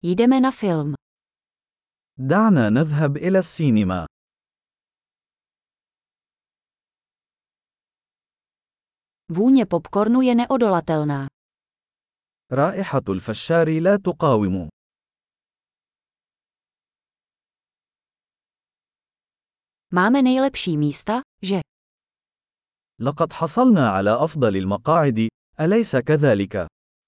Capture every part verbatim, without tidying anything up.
Jdeme na film. دعنا نذهب إلى السينما. Vůně popcornu je neodolatelná. رائحة الفشار لا تقاوم. Máme nejlepší místa, že? لقد حصلنا على أفضل المقاعد، أليس كذلك؟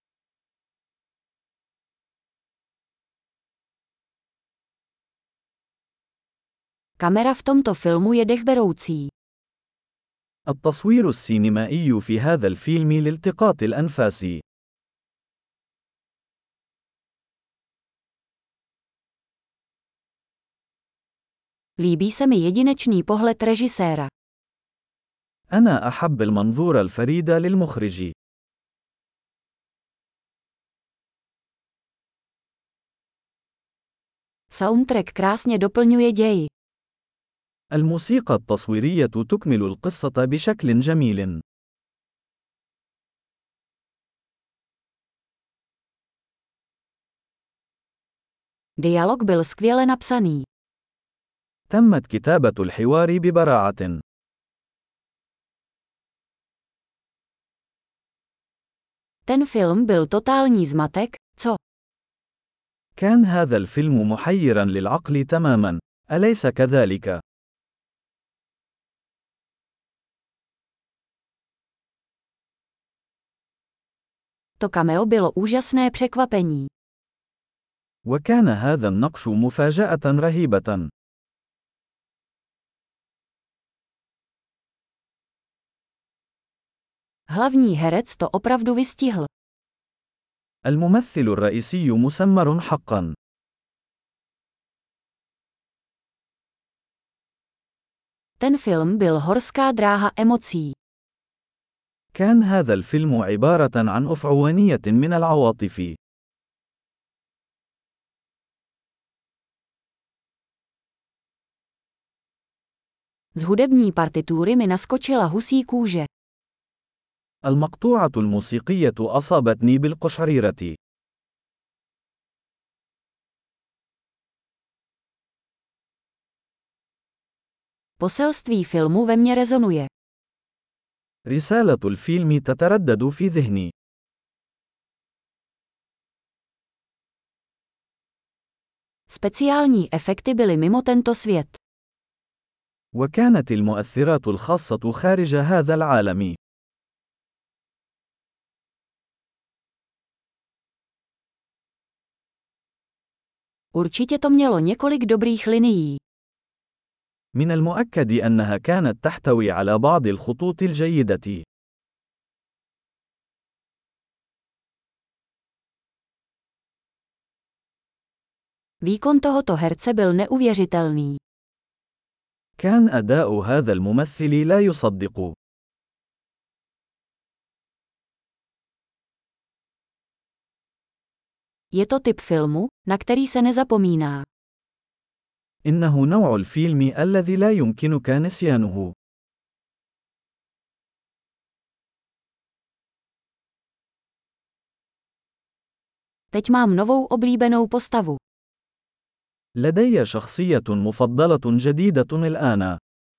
Kamera v tomto filmu je dechberoucí. التصوير السينمائي في هذا الفيلم لالتقاط الأنفاس. Líbí se mi jedinečný pohled režiséra. أنا أحب المنظور الفريد للمخرج. Soundtrack krásně doplňuje děj. الموسيقى التصويرية تكمل القصة بشكل جميل. Dialog byl skvěle napsaný. تمت كتابة الحوار ببراعة. Ten film byl totální zmatek, co? كان هذا الفيلم محيرا للعقل تماما، أليس كذلك؟ To cameo bylo úžasné překvapení. وكان هذا النقش مفاجأة رهيبة. Hlavní herec to opravdu vystihl. الممثل الرئيسي مسمر حقا. Ten film byl horská dráha emocí. كان هذا الفيلم عبارة عن أفعوانية من العواطف. Z hudební partitury mi naskočila husí kůže. المقطوعة الموسيقية أصابتني بالقشعريرة. Poselství filmu ve mně rezonuje. رسالة الفيلم تتردد في ذهني. Speciální efekty byly mimo tento svět. وكانت المؤثرات الخاصة خارج هذا العالم. Určitě to mělo několik dobrých linií. من المؤكد أنها كانت تحتوي على بعض الخطوط الجيدة. Výkon tohoto herce byl neuvěřitelný. كان أداء هذا الممثل لا يصدق. Je to typ filmu, na který se nezapomíná. إنه نوع الفيلم الذي لا يمكنك نسيانه. Teď mám novou oblíbenou postavu. لدي شخصية مفضلة جديدة الآن.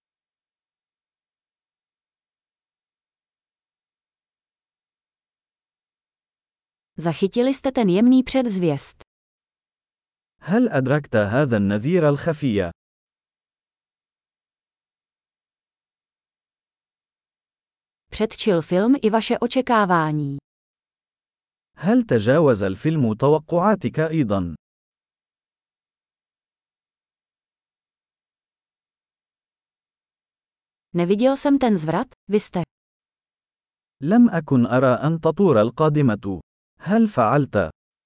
Zachytili jste ten jemný předzvěst. هل أدركت هذا النذير الخفي؟ Předčil film i vaše očekávání. هل تجاوز الفيلم توقعاتك أيضا؟ Neviděl jsem ten zvrat, vy jste. لم أكن أرى أن تطور القادمة. هل فعلت؟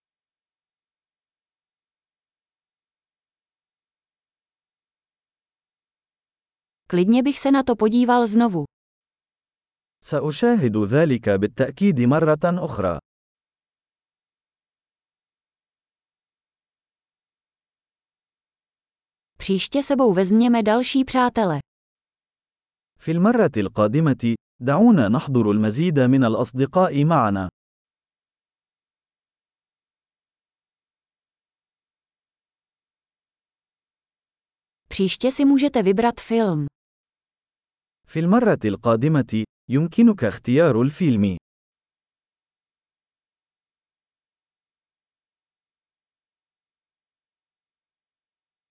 Klidně bych se na to podíval znovu. سأشاهد ذلك بالتأكيد مرة أخرى. Příště sebou vezměme další přátele. في المرة القادمة، دعونا نحضر المزيد من الأصدقاء معنا. Příště si můžete vybrat film. في المرة القادمة، يمكنك اختيار الفيلم.